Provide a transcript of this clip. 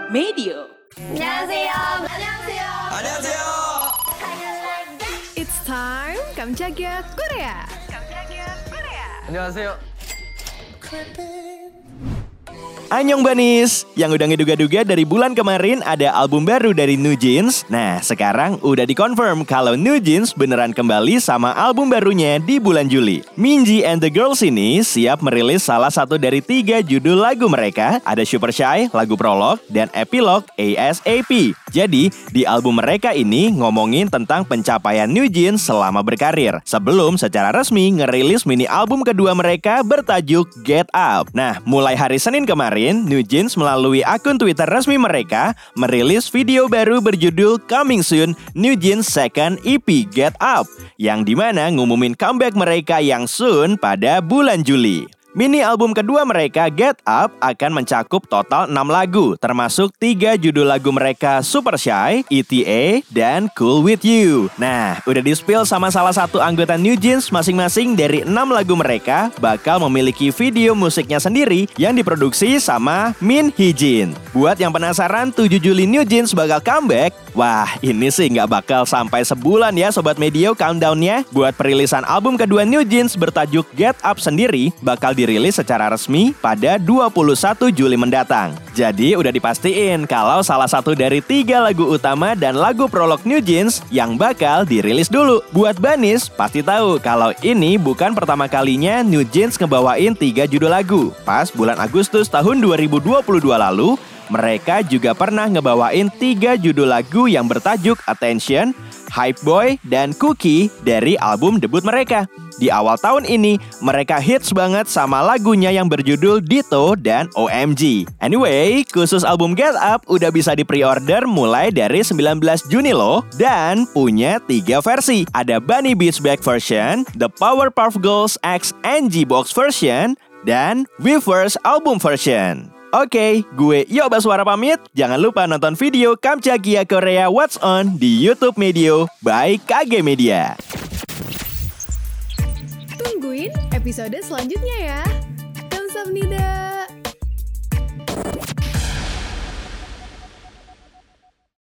Medio. 안녕하세요. 안녕하세요. 안녕하세요. It's time 깜짝이야 Korea. 안녕하세요. Annyeong Banis, yang udah ngeduga-duga dari bulan kemarin ada album baru dari New Jeans. Nah, sekarang udah dikonfirm kalau New Jeans beneran kembali sama album barunya di bulan Juli. Minzy and the Girls ini siap merilis salah satu dari 3 judul lagu mereka. Ada Super Shy, lagu prolog, dan epilog ASAP. Jadi, di album mereka ini ngomongin tentang pencapaian New Jeans selama berkarir. Sebelum secara resmi ngerilis mini album kedua mereka bertajuk Get Up. Nah, mulai hari Senin kemarin, New Jeans melalui akun Twitter resmi mereka merilis video baru berjudul Coming Soon New Jeans Second EP Get Up, yang dimana ngumumin comeback mereka yang soon pada bulan Juli. Mini album kedua mereka, Get Up, akan mencakup total 6 lagu, termasuk 3 judul lagu mereka, Super Shy, ETA, dan Cool With You. Nah, udah di-spill sama salah satu anggota New Jeans masing-masing dari 6 lagu mereka bakal memiliki video musiknya sendiri yang diproduksi sama Min Hee-jin. Buat yang penasaran 7 Juli New Jeans bakal comeback, wah ini sih nggak bakal sampai sebulan ya Sobat Medio countdown-nya. Buat perilisan album kedua New Jeans bertajuk Get Up sendiri bakal dirilis secara resmi pada 21 Juli mendatang. Jadi udah dipastiin kalau salah satu dari 3 lagu utama dan lagu prolog New Jeans yang bakal dirilis dulu. Buat Banis pasti tahu kalau ini bukan pertama kalinya New Jeans ngebawain 3 judul lagu. Pas bulan Agustus tahun 2022 lalu, mereka juga pernah ngebawain 3 judul lagu yang bertajuk Attention, Hype Boy, dan Cookie dari album debut mereka. Di awal tahun ini, mereka hits banget sama lagunya yang berjudul Ditto dan OMG. Anyway, khusus album Get Up udah bisa di-pre-order mulai dari 19 Juni loh. Dan punya 3 versi. Ada Bunny Beats Back version, The Powerpuff Girls X NG Box version, dan Weverse album version. Oke, gue Yo Baswara pamit. Jangan lupa nonton video Kamchakia Korea What's On di YouTube Medio by KG Media. Tungguin episode selanjutnya ya. Kamsahamnida.